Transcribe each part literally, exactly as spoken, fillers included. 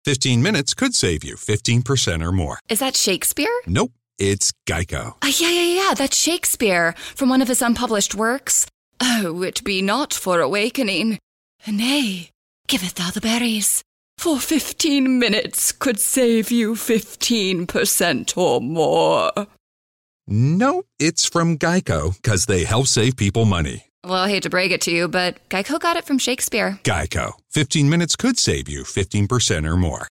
fifteen minutes could save you fifteen percent or more. Is that Shakespeare? Nope, it's Geico. Uh, yeah, yeah, yeah, that's Shakespeare, from one of his unpublished works. Oh, it be not for awakening. Nay, giveth thou the berries. For fifteen minutes could save you fifteen percent or more. Nope, it's from Geico, because they help save people money. Well, I hate to break it to you, but Geico got it from Shakespeare. Geico. fifteen minutes could save you fifteen percent or more.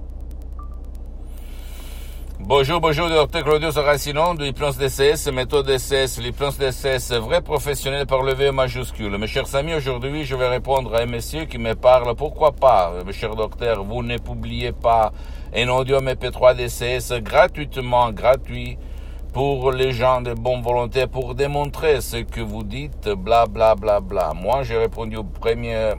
Bonjour, bonjour, docteur Claudio Saracino de l'hypnose D C S, méthode D C S, l'hypnose D C S, vrai professionnel par le V majuscule. Mes chers amis, aujourd'hui, je vais répondre à un monsieur qui me parle. Pourquoi pas, mes chers docteurs, vous ne publiez pas un audio M P trois D C S gratuitement, gratuit, pour les gens de bonne volonté, pour démontrer ce que vous dites, bla bla bla bla. Moi, j'ai répondu aux premières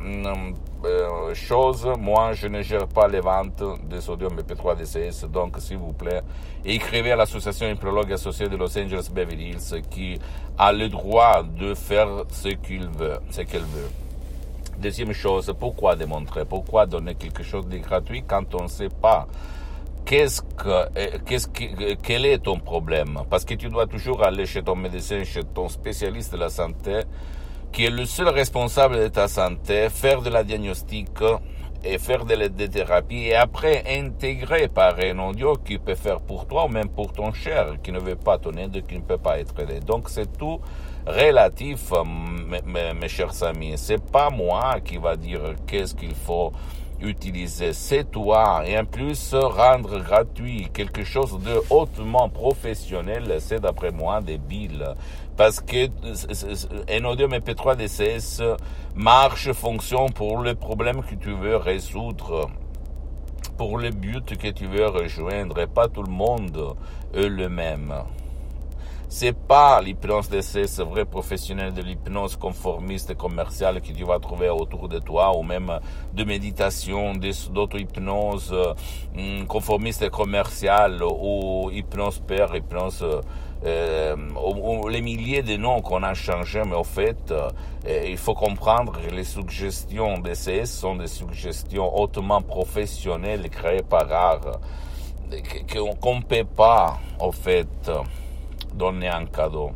euh, choses. Moi, je ne gère pas les ventes des audios M P trois D C S. Donc, s'il vous plaît, écrivez à l'association Hypnologue associée de Los Angeles Beverly Hills qui a le droit de faire ce qu'il veut, ce qu'elle veut. Deuxième chose, pourquoi démontrer? Pourquoi donner quelque chose de gratuit quand on ne sait pas Qu'est-ce que, qu'est-ce que, quel est ton problème? Parce que tu dois toujours aller chez ton médecin, chez ton spécialiste de la santé, qui est le seul responsable de ta santé, faire de la diagnostic et faire de la thérapie et après intégrer par un audio qui peut faire pour toi ou même pour ton cher, qui ne veut pas ton aide, qui ne peut pas être aidé. Donc c'est tout relatif, mes, mes, mes chers amis. C'est pas moi qui va dire qu'est-ce qu'il faut utiliser, c'est toi. Et en plus, rendre gratuit quelque chose de hautement professionnel, c'est d'après moi débile. Parce que un audio M P trois D C S marche, fonctionne pour le problème que tu veux résoudre, pour le but que tu veux rejoindre, et pas tout le monde est le même. C'est pas l'hypnose D C S vrai professionnel de l'hypnose conformiste et commerciale que tu vas trouver autour de toi, ou même de méditation, d'auto-hypnose euh, conformiste et commerciale, ou hypnose père, hypnose, euh, ou, ou les milliers de noms qu'on a changés, mais au fait, euh, il faut comprendre que les suggestions D C S sont des suggestions hautement professionnelles créées par art, qu'on ne peut pas, au fait, donner un cadeau.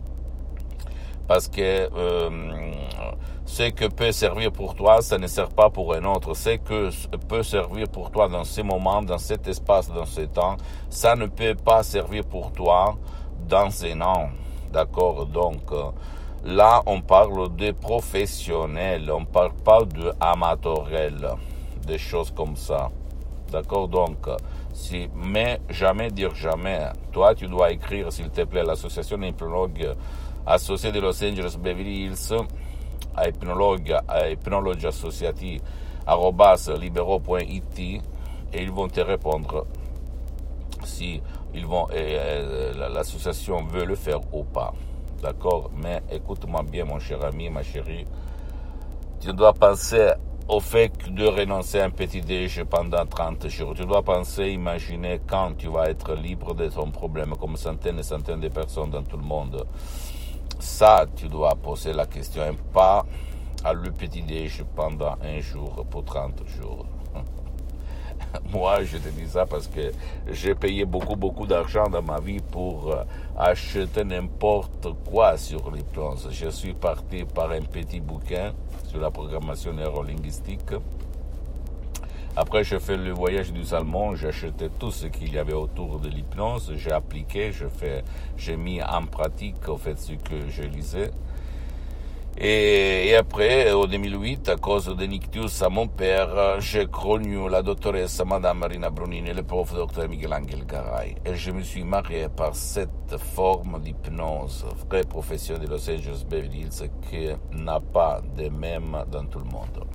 Parce que euh, ce que peut servir pour toi, ça ne sert pas pour un autre. Ce que peut servir pour toi dans ce moment, dans cet espace, dans ce temps, ça ne peut pas servir pour toi dans un an. D'accord? Donc, euh, là, on parle de professionnels, on ne parle pas de amateurel, des choses comme ça. D'accord? Donc, si, mais jamais dire jamais. Toi, tu dois écrire, s'il te plaît, l'association hypnologue associée de Los Angeles Beverly Hills à hypnologue, à hypnologue associati arobase libero point it et ils vont te répondre si ils vont, euh, l'association veut le faire ou pas. D'accord? Mais écoute-moi bien, mon cher ami, ma chérie. Tu dois penser au fait de renoncer à un petit déj pendant trente jours. Tu dois penser, imaginer quand tu vas être libre de ton problème, comme centaines et centaines de personnes dans tout le monde. Ça, tu dois poser la question, et pas à le petit déj pendant un jour pour trente jours. Moi, je te dis ça parce que j'ai payé beaucoup, beaucoup d'argent dans ma vie pour acheter n'importe quoi sur l'hypnose. Je suis parti par un petit bouquin sur la programmation neurolinguistique. Après, j'ai fait le voyage du Salmon, j'ai acheté tout ce qu'il y avait autour de l'hypnose, j'ai appliqué, j'ai fait, j'ai mis en pratique, au fait, ce que je lisais. Et, et après, en deux mille huit, à cause de ictus à mon père, j'ai connu la doctoresse Madame Marina Brunini et le prof docteur Miguel-Angel Garay. Et je me suis marié par cette forme d'hypnose, vrai professionnel de Los Angeles Beverly Hills, qui n'a pas de même dans tout le monde.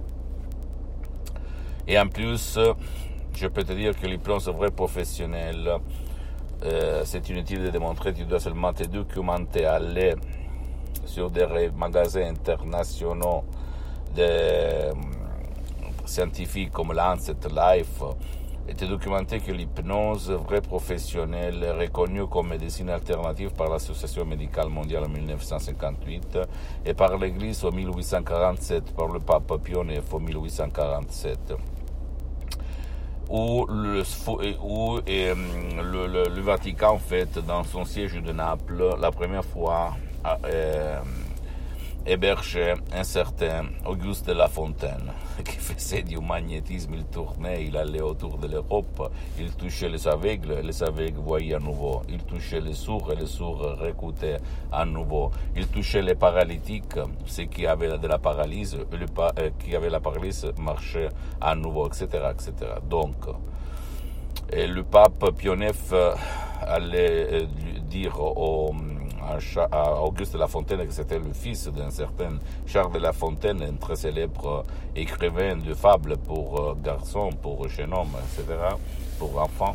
Et en plus, je peux te dire que l'hypnose vrai professionnel, euh, c'est inutile de démontrer, tu dois seulement te documenter, aller sur des magasins internationaux de euh, scientifiques comme Lancet, Life, et te documenter que l'hypnose vraie professionnelle est reconnue comme médecine alternative par l'Association médicale mondiale en dix-neuf cent cinquante-huit et par l'Église en dix-huit cent quarante-sept, par le pape Pie neuf en dix-huit cent quarante-sept. où le, où, et, le, le, le Vatican, en fait, dans son siège de Naples, la première fois, a euh, hébergé un certain Auguste de La Fontaine, qui faisait du magnétisme, il tournait, il allait autour de l'Europe, il touchait les aveugles, et les aveugles voyaient à nouveau, il touchait les sourds, et les sourds réécoutaient à nouveau, il touchait les paralytiques, ceux qui avaient de la paralysie, et le, euh, qui avaient la paralysie marchaient à nouveau, et cetera, et cetera. Donc, et le pape Pie neuf allait dire au à Auguste de La Fontaine, que c'était le fils d'un certain Charles de La Fontaine, un très célèbre écrivain de fables pour garçons, pour jeunes hommes, et cetera, pour enfants.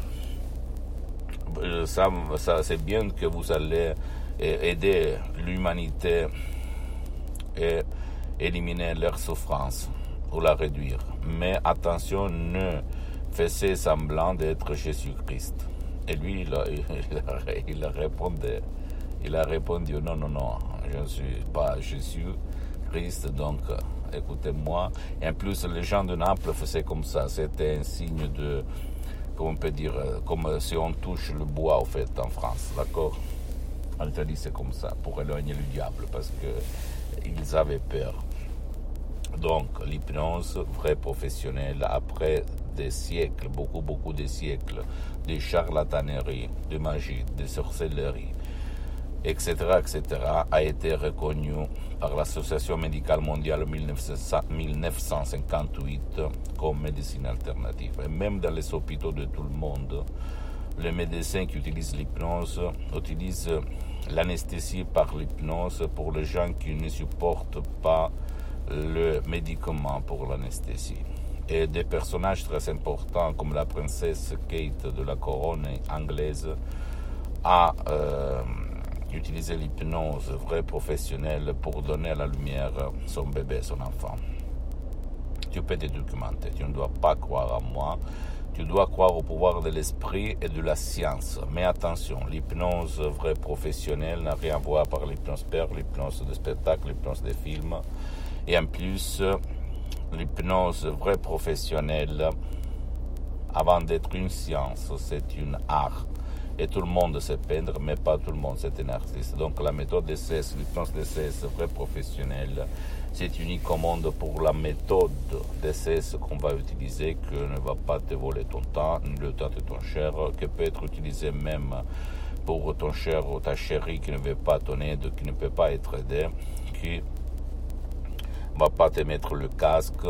Ça, ça, c'est bien que vous allez aider l'humanité et éliminer leur souffrance ou la réduire. Mais attention, ne faites semblant d'être Jésus-Christ. Et lui, il, a, il, il répondait. Il a répondu non, non, non, je ne suis pas Jésus-Christ, donc écoutez-moi. Et en plus, les gens de Naples faisaient comme ça, c'était un signe de, comment on peut dire, comme si on touche le bois, en fait, en France, d'accord? En Italie, c'est comme ça, pour éloigner le diable, parce qu'ils avaient peur. Donc, l'hypnose, vrai professionnel, après des siècles, beaucoup, beaucoup de siècles, de charlatanerie, de magie, de sorcellerie, et cetera, et cetera, a été reconnu par l'Association médicale mondiale en dix-neuf cent cinquante-huit comme médecine alternative. Et même dans les hôpitaux de tout le monde, les médecins qui utilisent l'hypnose utilisent l'anesthésie par l'hypnose pour les gens qui ne supportent pas le médicament pour l'anesthésie. Et des personnages très importants comme la princesse Kate de la couronne anglaise a euh, utilisé l'hypnose vrai professionnelle pour donner à la lumière son bébé, son enfant. Tu peux te documenter, tu ne dois pas croire à moi, tu dois croire au pouvoir de l'esprit et de la science. Mais attention, l'hypnose vrai professionnelle n'a rien à voir par l'hypnose père, l'hypnose de spectacle, l'hypnose de film. Et en plus, l'hypnose vraie professionnelle, avant d'être une science, c'est une art. Et tout le monde sait peindre, mais pas tout le monde c'est un artiste. Donc la méthode D C S, l'hypnose D C S vraie professionnelle, c'est unique au monde pour la méthode D C S qu'on va utiliser, que ne va pas te voler ton temps, ni le temps de ton cher, que peut être utilisé même pour ton cher ou ta chérie qui ne veut pas ton aide, qui ne peut pas être aidé, qui ne va pas te mettre le casque,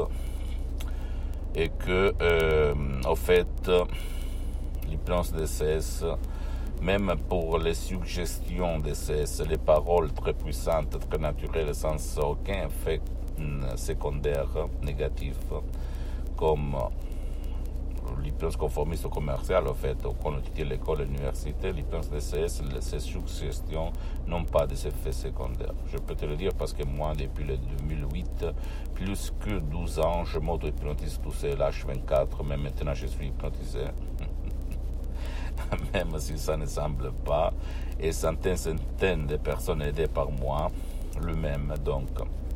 et que, euh, au fait, l'hypnose D C S, même pour les suggestions D C S, les paroles très puissantes, très naturelles, sans aucun effet secondaire négatif, comme l'hypnose conformiste commerciale, en fait, qu'on utilise à l'école et à l'université, l'hypnose D C S, ces suggestions n'ont pas des effets secondaires. Je peux te le dire parce que moi, depuis le deux mille huit, plus que douze ans, je m'auto-hypnotise tout seul, H vingt-quatre, mais maintenant je suis hypnotisé. Même si ça ne semble pas, et centaines, centaines de personnes aidées par moi, le même, donc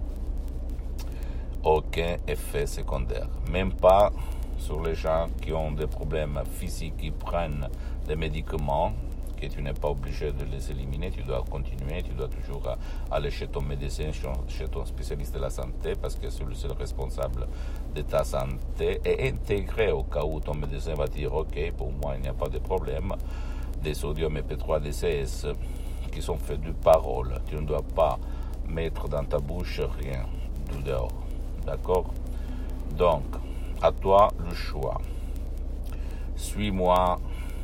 aucun effet secondaire, même pas sur les gens qui ont des problèmes physiques, qui prennent des médicaments, que tu n'es pas obligé de les éliminer, tu dois continuer, tu dois toujours aller chez ton médecin, chez ton spécialiste de la santé, parce que c'est le seul responsable de ta santé, et intégrer au cas où ton médecin va dire, ok, pour moi il n'y a pas de problème, des sodium E P trois D C S qui sont faits de paroles, tu ne dois pas mettre dans ta bouche rien de dehors, d'accord? Donc, à toi le choix. Suis-moi.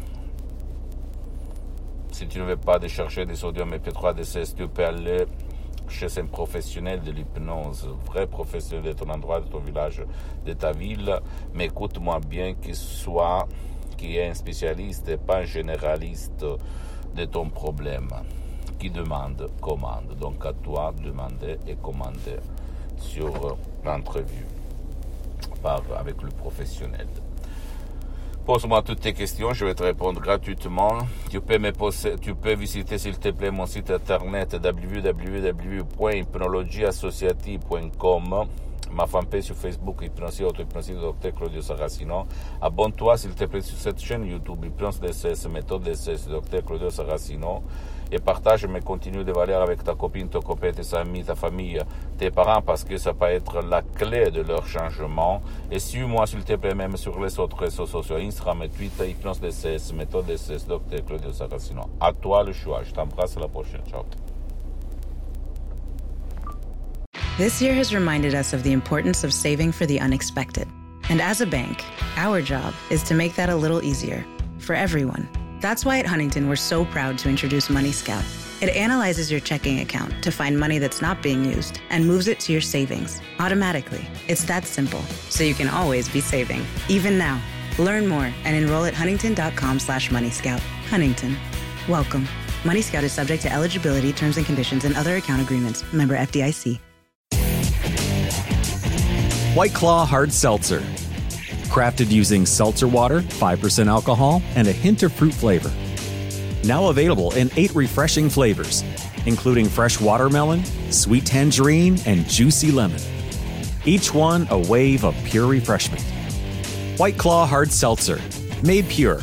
Si tu ne veux pas chercher des sodium E P trois D C S, tu peux aller chez un professionnel de l'hypnose, vrai professionnel de ton endroit, de ton village, de ta ville, mais écoute-moi bien, qu'il soit, qui est un spécialiste et pas un généraliste de ton problème, qui demande, commande. Donc à toi de demander et commander sur l'entrevue par, avec le professionnel. Pose-moi toutes tes questions, je vais te répondre gratuitement. Tu peux me poser, tu peux visiter s'il te plaît mon site internet w w w point hypnologie associative point com, ma fanpage sur Facebook, Hypnosie Auto, Hypnosie de Docteur Claudio Saracino. Abonne-toi s'il te plaît sur cette chaîne YouTube, Hypnose D C S, méthode D C S, Docteur Claudio Saracino. Et partage mes contenus de valeur avec ta copine, ton copain, tes amis, ta famille, tes parents, parce que ça peut être la clé de leur changement. Et suis-moi, s'il te plaît, même sur les autres réseaux sociaux, Instagram et Twitter, Hypnose D C S, méthode D C S, Docteur Claudio Saracino. À toi le choix. Je t'embrasse, à la prochaine. Ciao. This year has reminded us of the importance of saving for the unexpected. And as a bank, our job is to make that a little easier for everyone. That's why at Huntington, we're so proud to introduce Money Scout. It analyzes your checking account to find money that's not being used and moves it to your savings automatically. It's that simple, so you can always be saving, even now. Learn more and enroll at huntington.com slash Money Scout. Huntington. Welcome. Money Scout is subject to eligibility, terms and conditions, and other account agreements. Member F D I C. White Claw Hard Seltzer. Crafted using seltzer water, five percent alcohol, and a hint of fruit flavor. Now available in eight refreshing flavors, including fresh watermelon, sweet tangerine, and juicy lemon. Each one a wave of pure refreshment. White Claw Hard Seltzer. Made pure.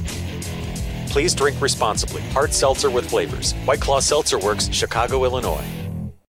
Please drink responsibly. Hard seltzer with flavors. White Claw Seltzer Works, Chicago, Illinois.